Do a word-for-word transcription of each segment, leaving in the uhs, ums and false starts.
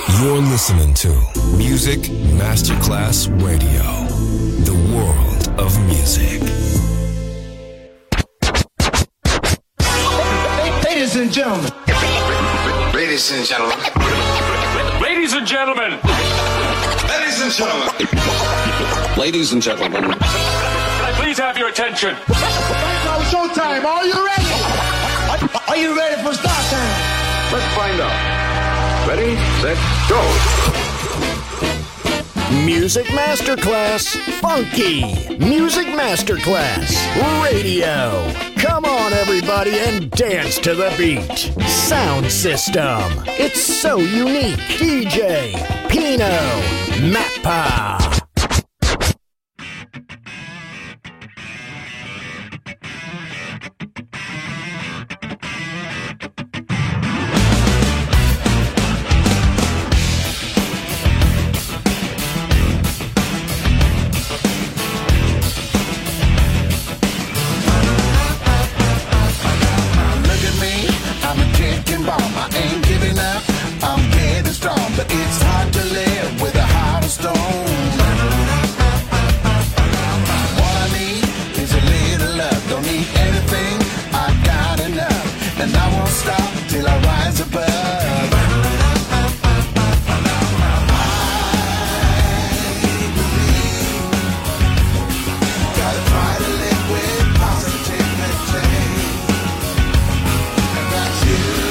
You're listening to Music Masterclass Radio, the world of music. Ladies and gentlemen. Ladies and gentlemen. Ladies and gentlemen. Ladies and gentlemen. Ladies and gentlemen. Can I please have your attention? Right now, showtime. Are you ready? Are you ready for start time? Let's find out. Ready, set, go. Music Masterclass Funky. Music Masterclass Radio. Come on, everybody, and dance to the beat. Sound system. It's so unique. D J Pino Mappa. It's hard to live with a heart of stone. What I need is a little love. Don't need anything, I got enough. And I won't stop till I rise above. Gotta try to live with positivity. And that's you.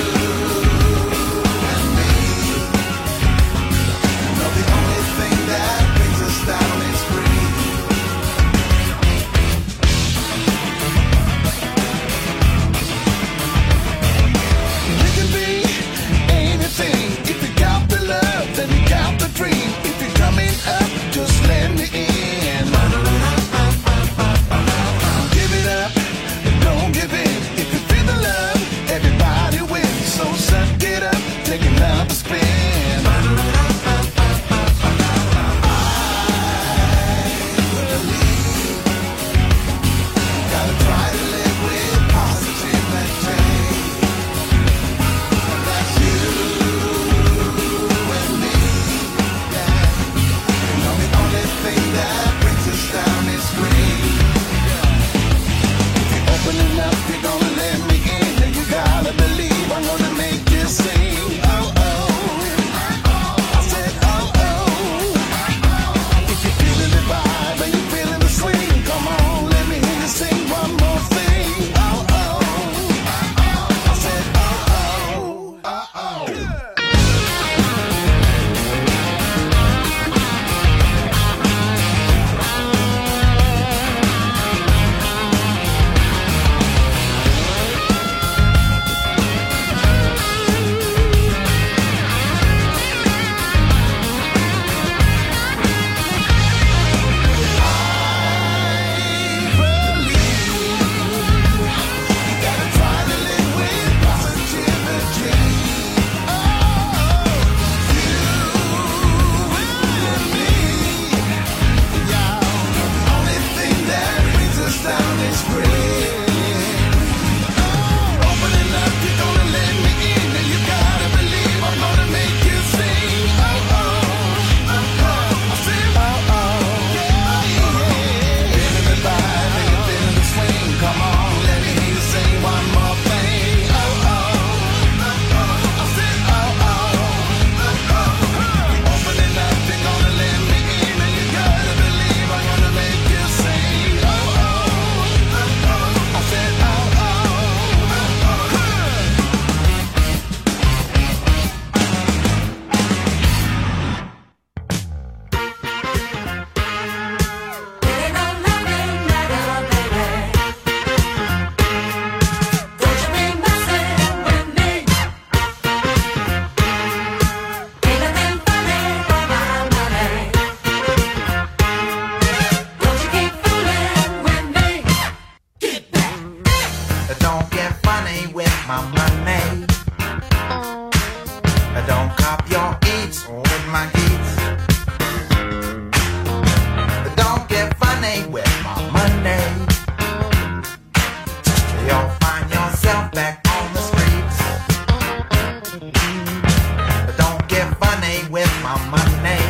Back on the streets. But don't get funny my money.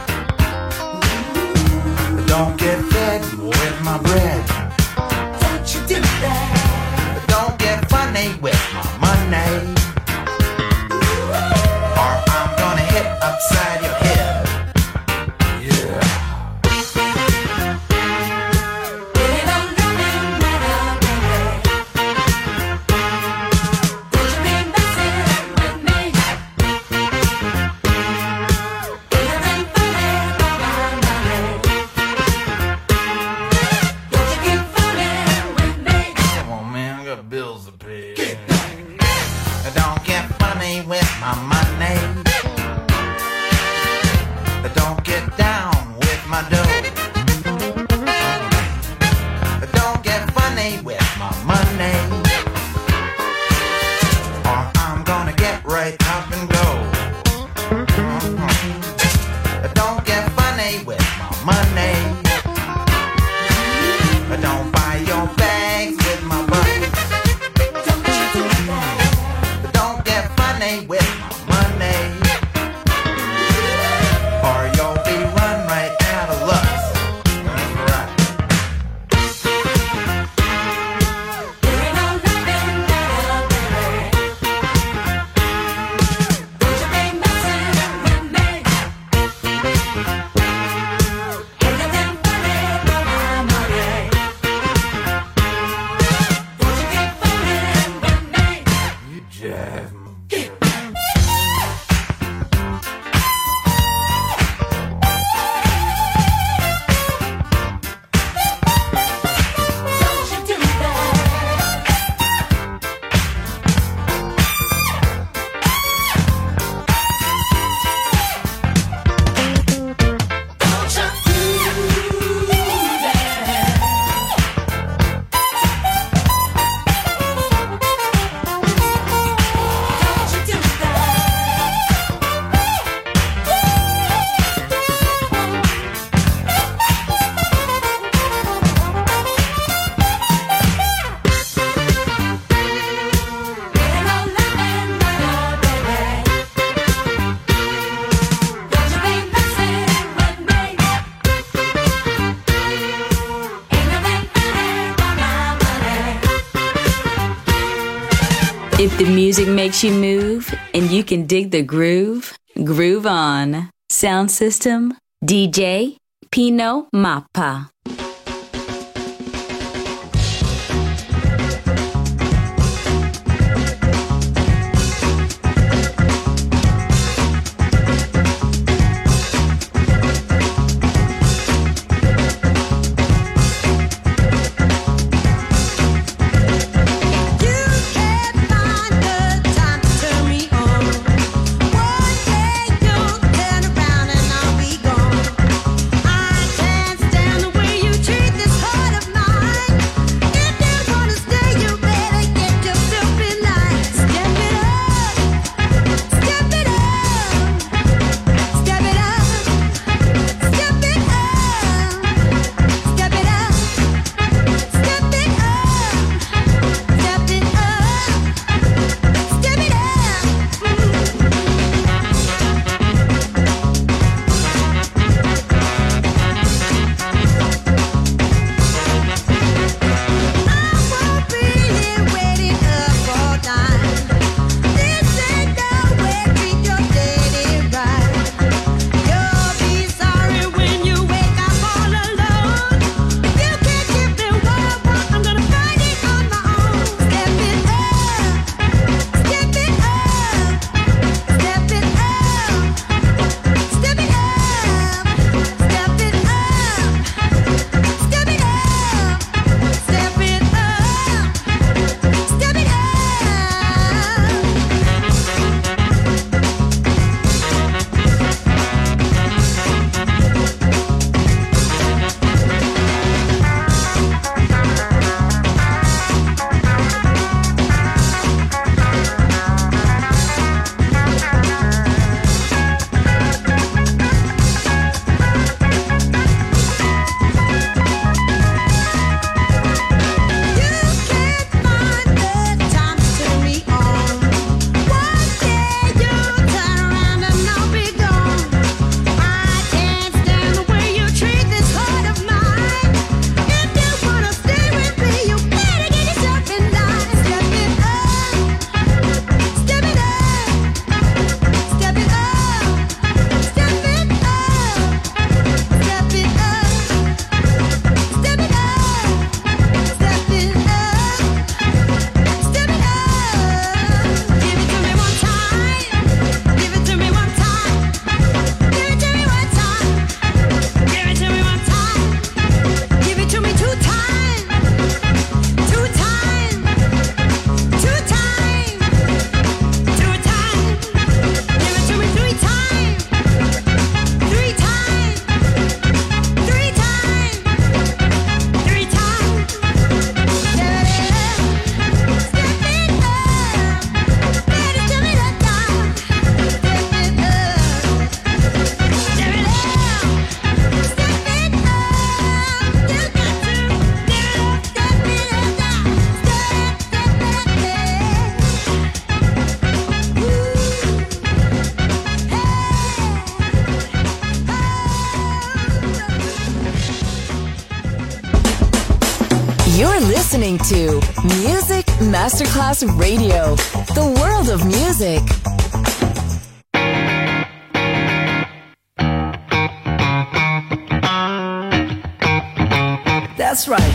Don't get fed with my bread. Don't you do that. Don't get funny with my money, or I'm gonna hit upside your head. If the music makes you move and you can dig the groove, groove on. Sound system, D J Pino Mappa. Turn around and I'll be gone. I can't stand the way listening to Music Masterclass Radio, the world of music. That's right.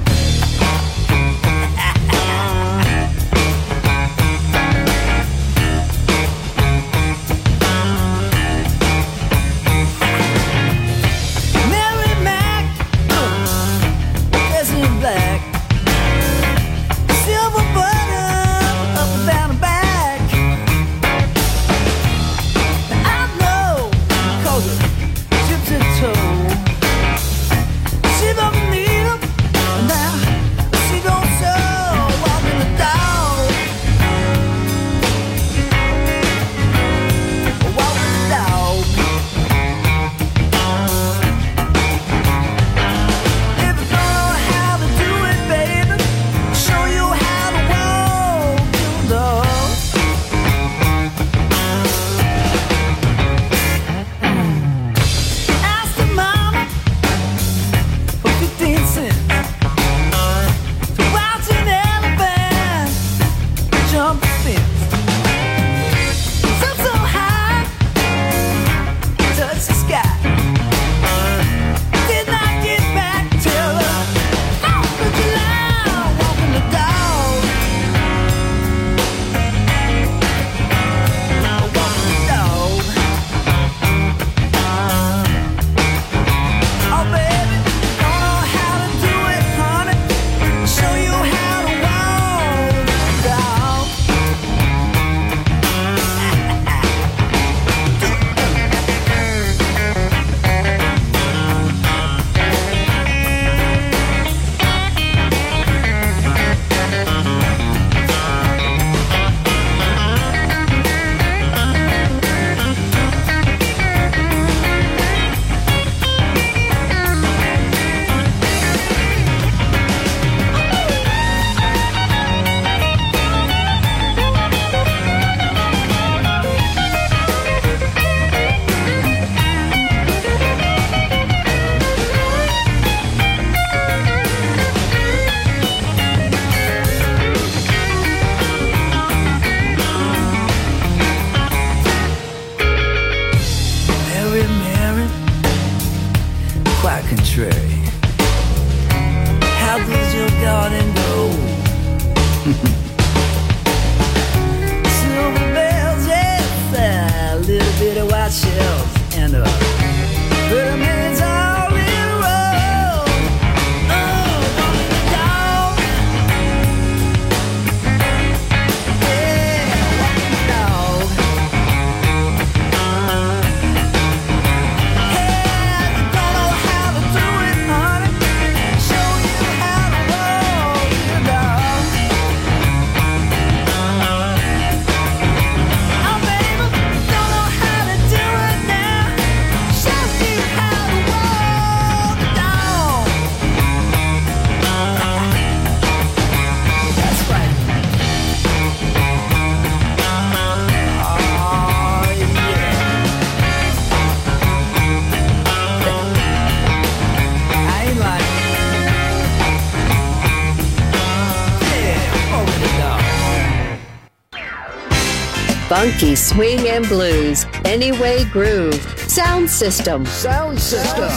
Funky swing and blues, Anyway Groove, Sound System. Sound System.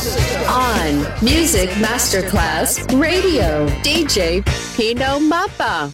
On Music Masterclass Radio, D J Pino Mappa.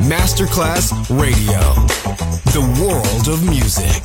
Masterclass Radio. The world of music.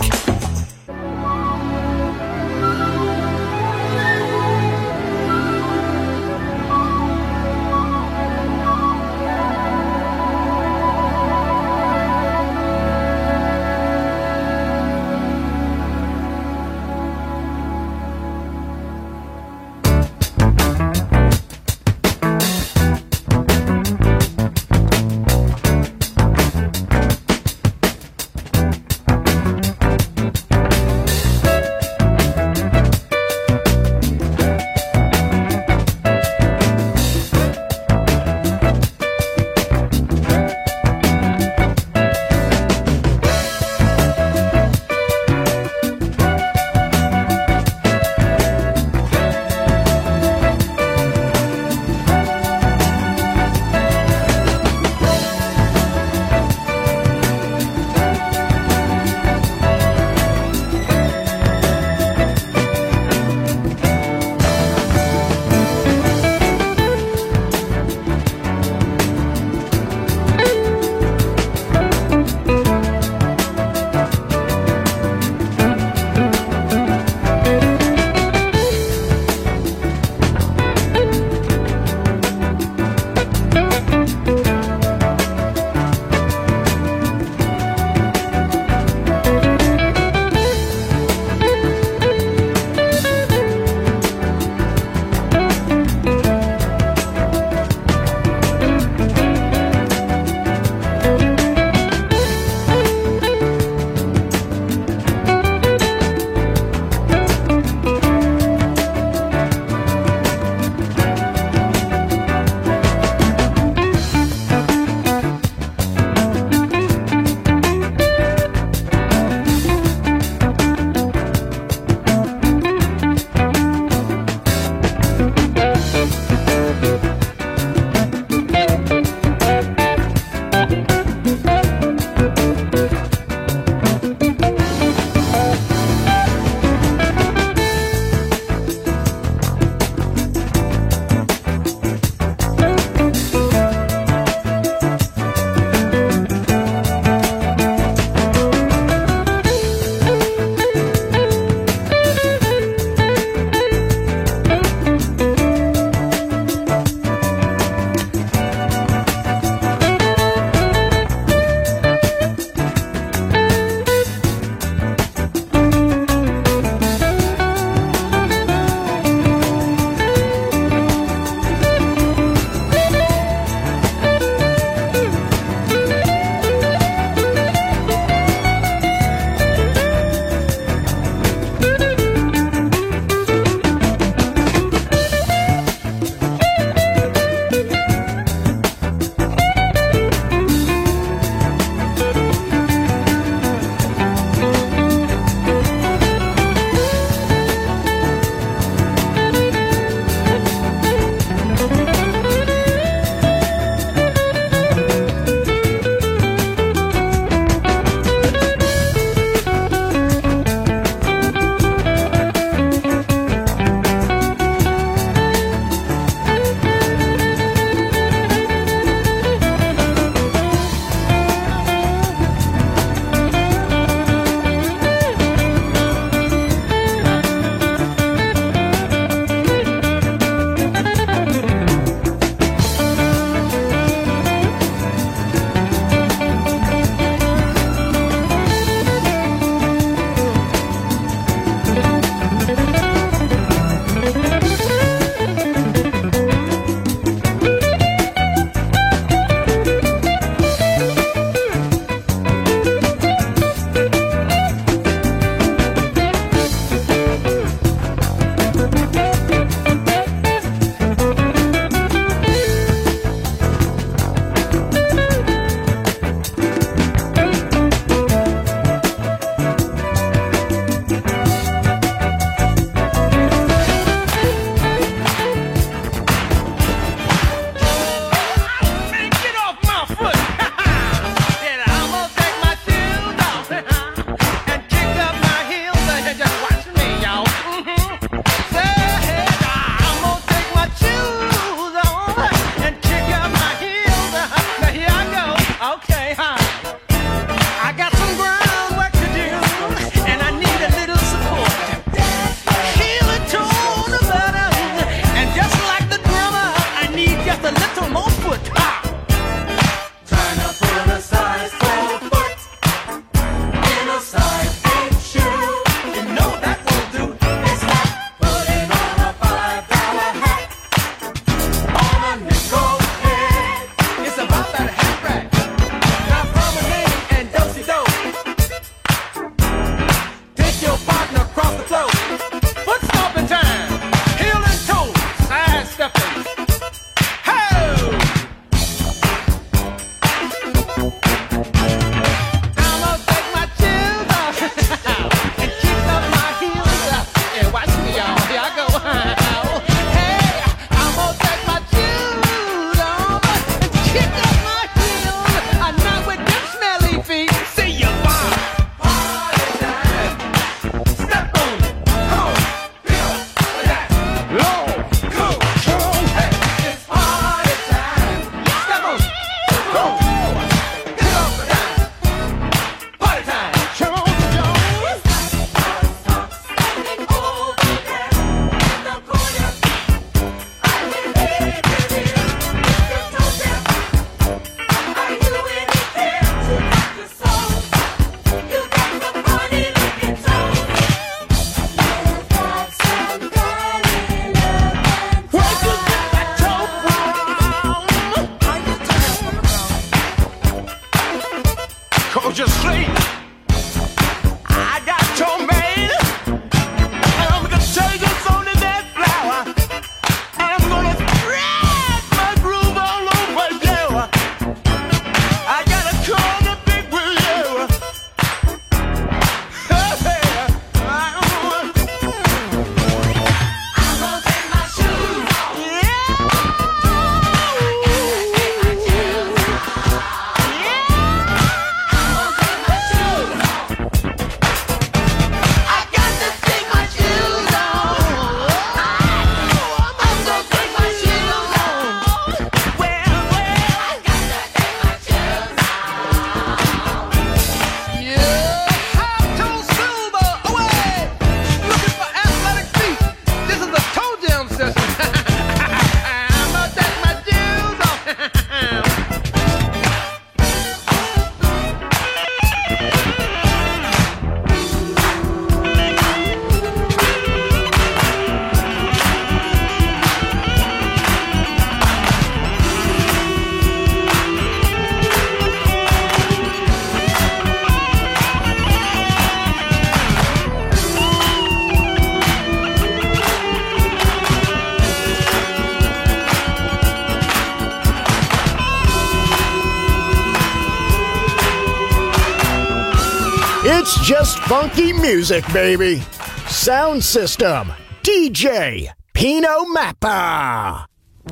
It's just funky music, baby. Sound System, D J Pino Mappa.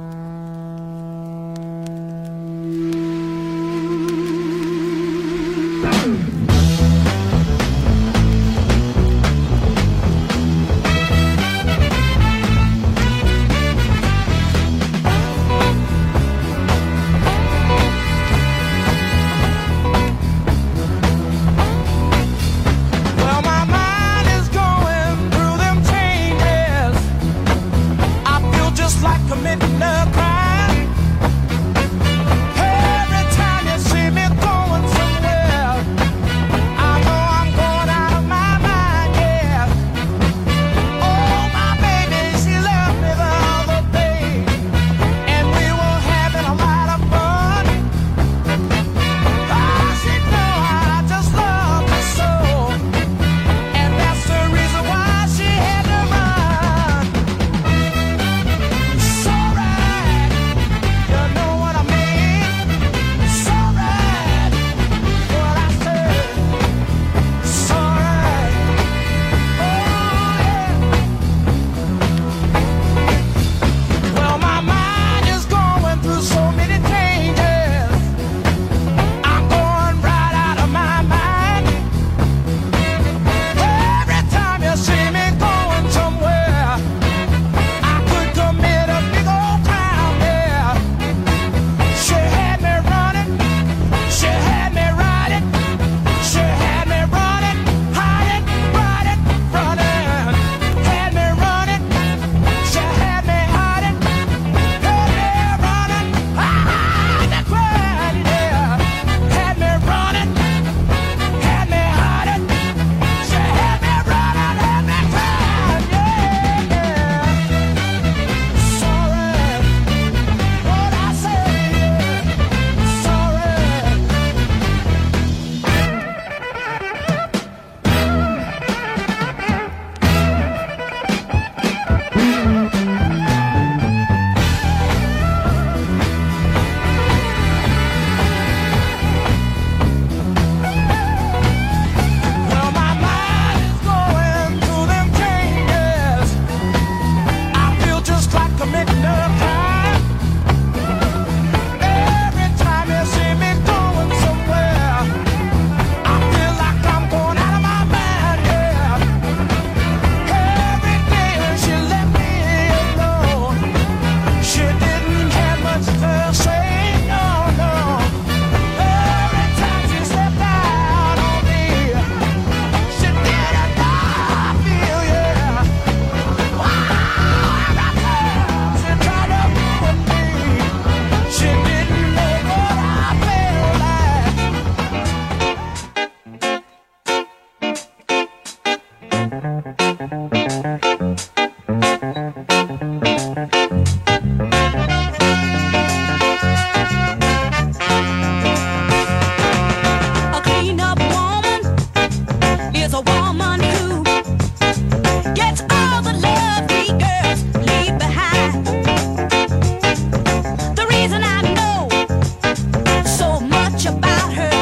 Committing a crime. Every time you see me going somewhere, I know I'm going out of my mind, yeah. Oh, my baby, she left me the other day, and we were having a lot of fun. I said, no, I just love her so, and that's the reason why she had to run.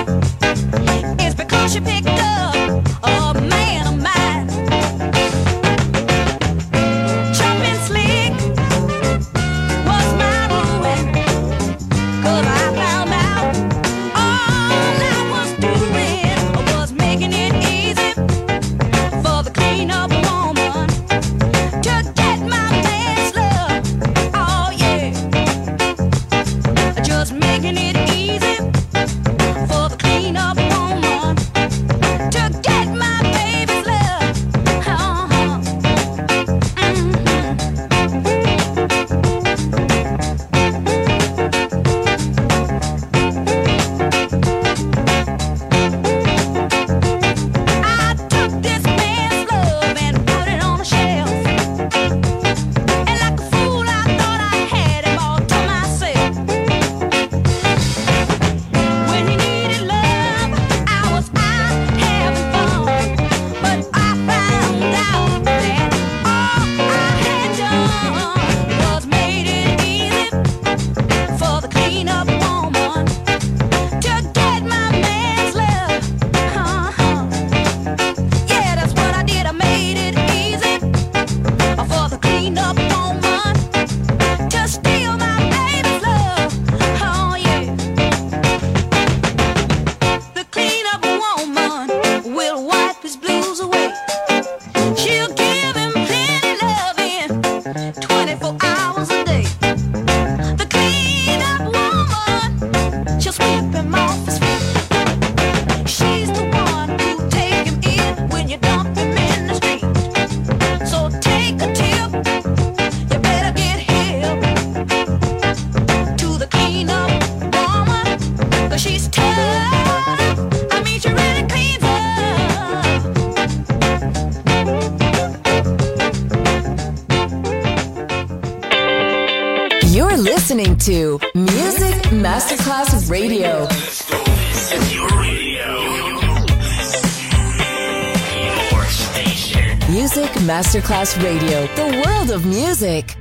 She picked up a man of mine. wipe his blues away. She'll give him plenty loving, twenty-four hours a day. The clean-up woman, she'll sweep him off his feet. She's the one who'll take him in when you dump him in the street. So take a tip, you better get hip to the clean-up woman, 'cause she's tough. I mean, she really cleans up. You're listening to Music Masterclass Radio. Your radio. Your station. Music Masterclass Radio, the world of music.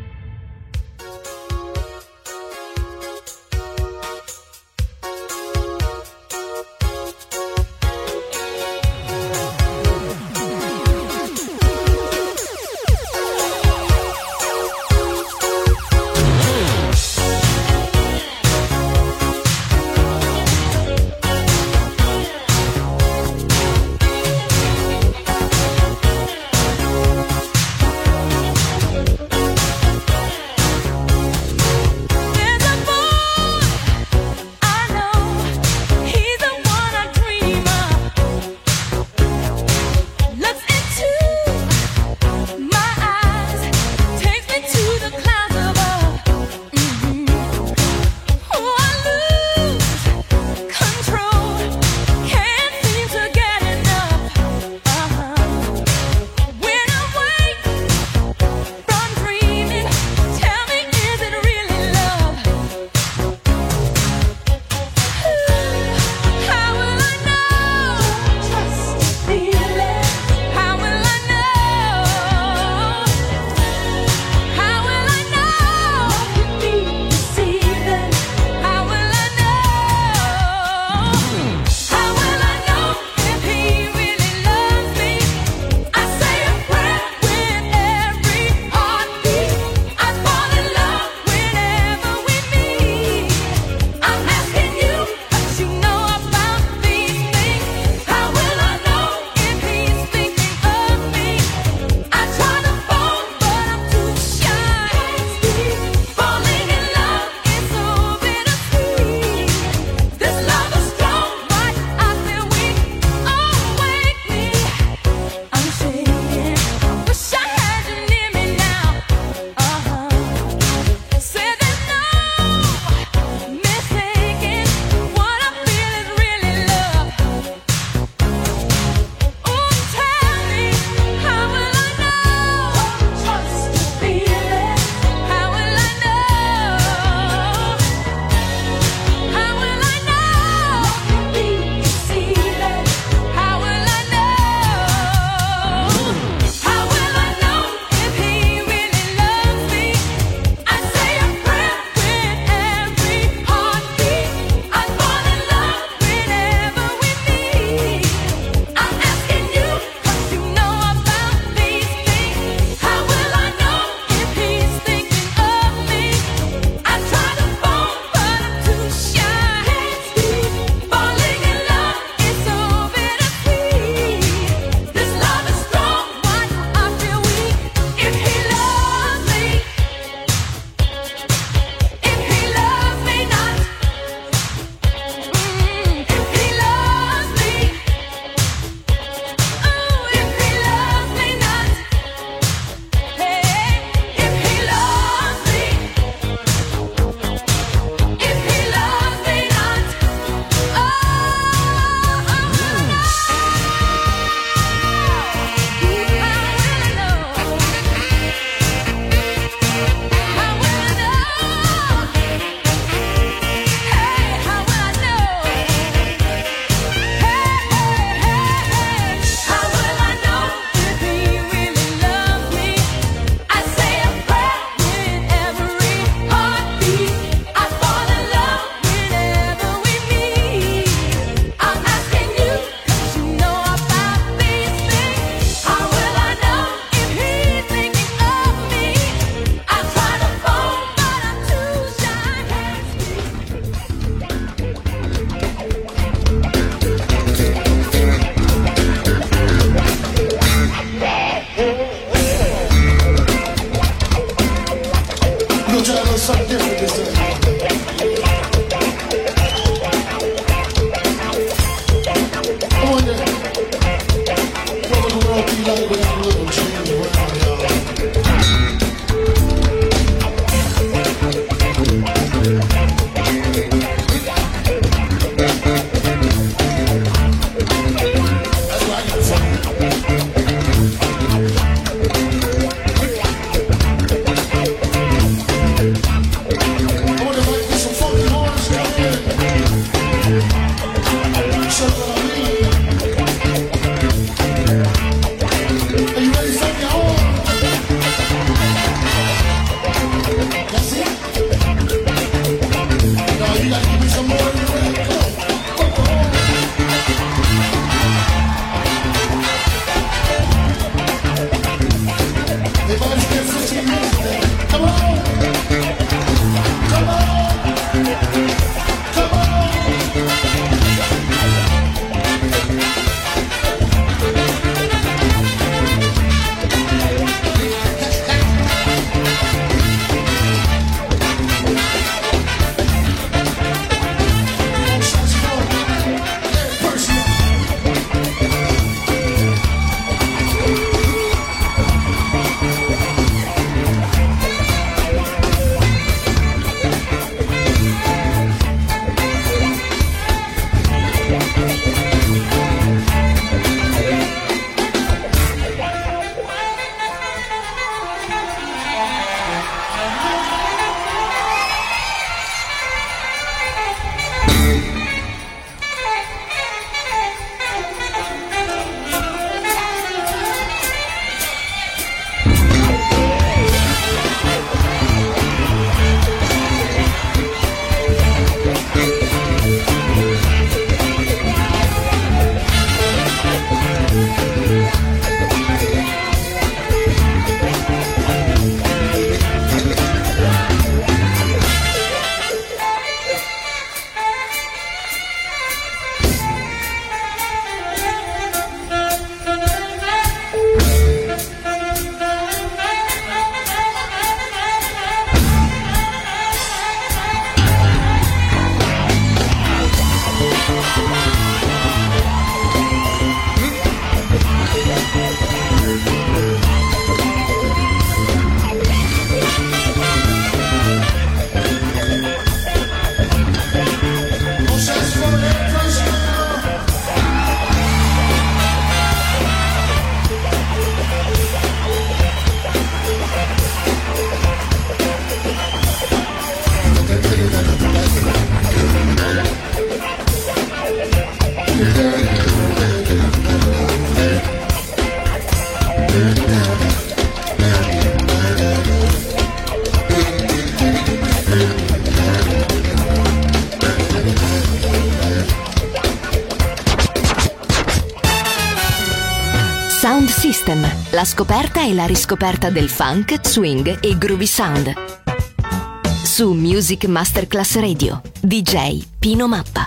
Sound System, la scoperta e la riscoperta del funk, swing e groovy sound. Su Music Masterclass Radio, D J Pino Mappa.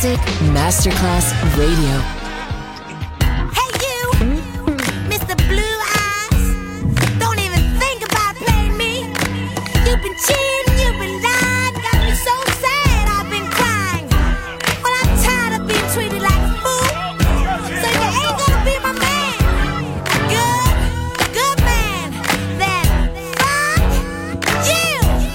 Music Masterclass Radio. Hey you, Mister Blue Eyes, don't even think about playing me. You've been cheating, you've been lying, got me so sad I've been crying. Well, I'm tired of being treated like a fool, so you ain't gonna be my man. Good, good man, then fuck you.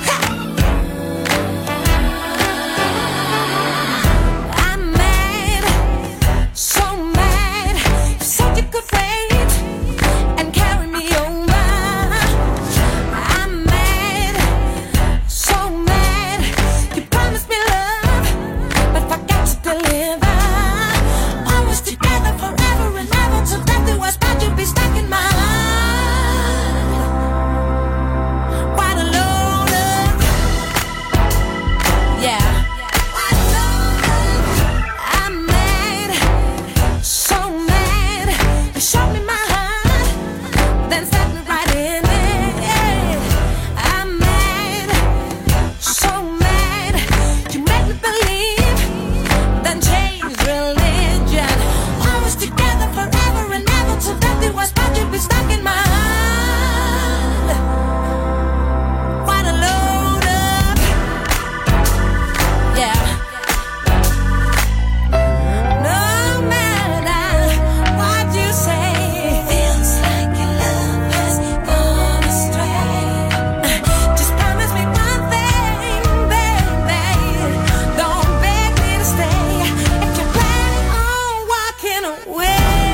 I'm mad, so mad. You said you could wait and carry me over. I'm mad, so mad. You promised me love, but forgot to deliver. Always together forever and ever, till death do us part, you'll be stuck in my heart. What a load of, yeah. I'm mad, so mad. You showed me my heart, then set me right in it. I'm mad, so mad. You made me believe, then changed religion. Always together forever and ever, till death do us part, you'll be stuck in my heart. What a load of, yeah. No matter what you say, feels like your love has gone astray. Just promise me one thing, baby. Don't beg me to stay. If you're planning on walking away,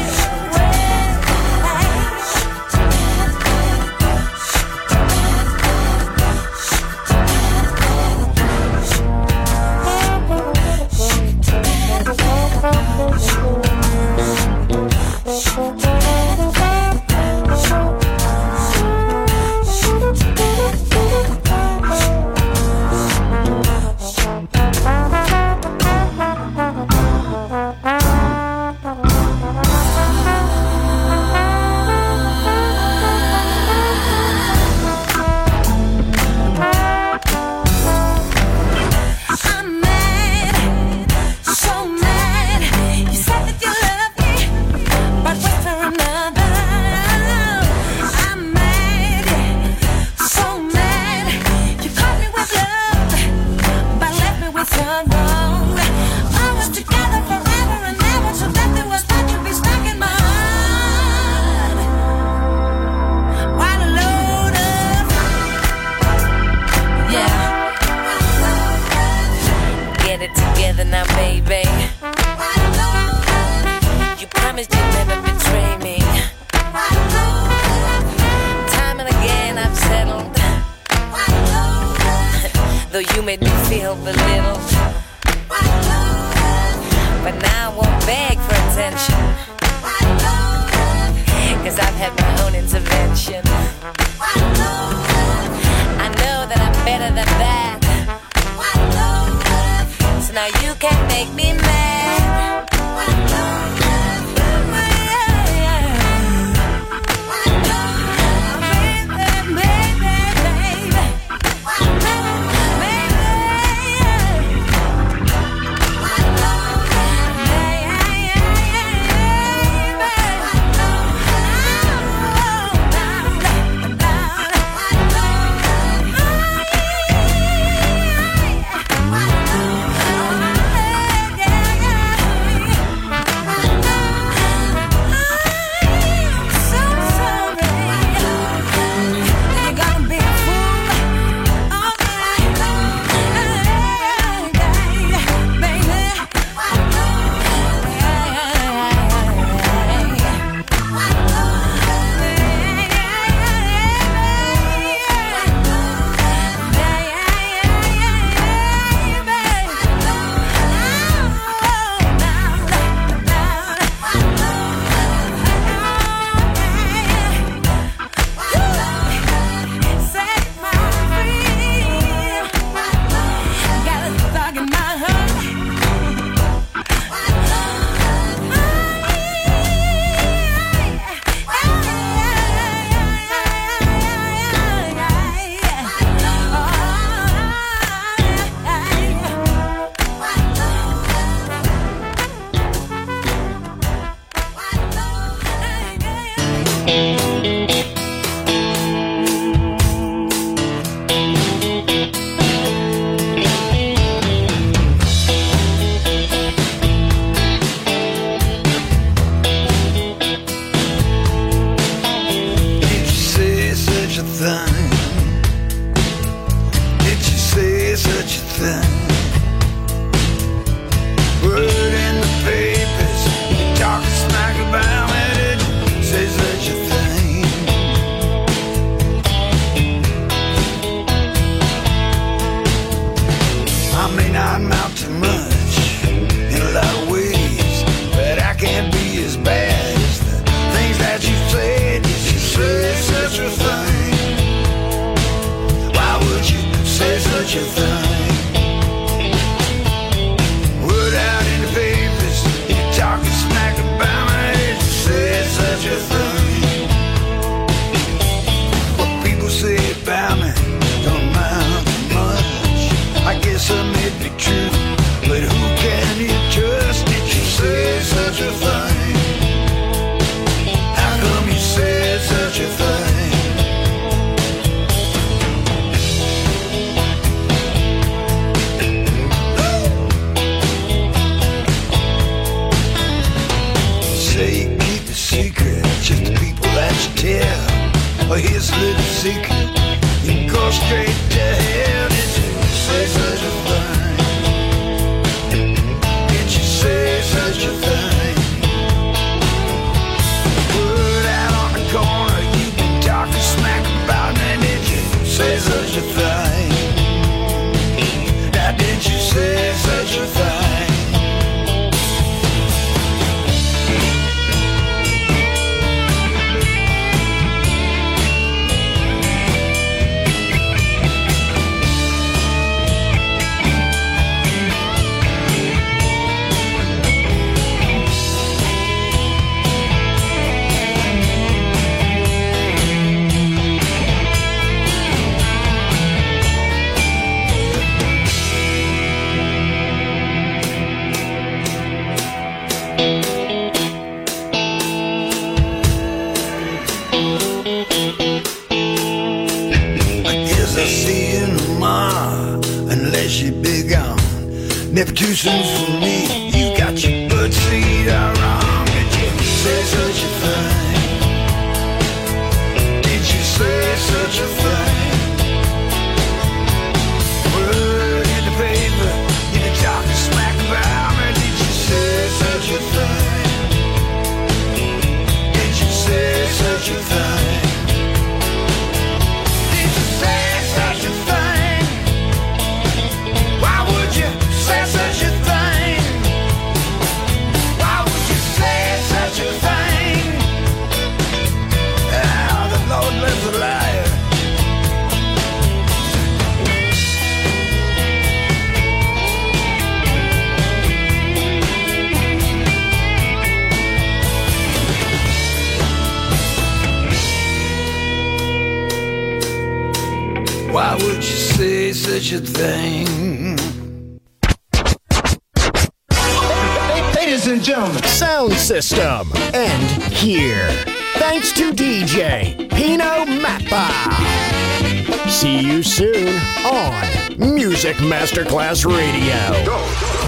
I'm mad, so mad. You said that you love me, but wait for another. I'm mad, so mad. You caught me with love, but left me with sorrow. Always together forever and ever, so that there was thought you'd be stuck in my heart. What a load of, yeah. Get it together now, baby. You promised you'd never betray me. Time and again I've settled, though you made me feel belittled. But now I won't beg for attention, cause I've had my own intervention. I know that I'm better than that, so now you can make me mad. Yeah, yeah. Oh, here's a little secret. You can go straight to hell. Did you say such a thing? Did you say such a thing? Word out on the corner, you been talking smack about me. Did you say such a thing? Now did you say such a thing? Never too soon for me. You got your bird seed all wrong. Did you say such a thing? Did you say such a thing? Word in the paper, you been talking smack about me. Did you say such a thing? Did you say such a thing? Did you say such a thing? Why would you say such a thing? Why would you say such a thing? Ah, the Lord lives a liar. Why would you say such a thing? Ladies and gentlemen, sound system, and here. Thanks to D J Pino Mappa. See you soon on Music Masterclass Radio. Go.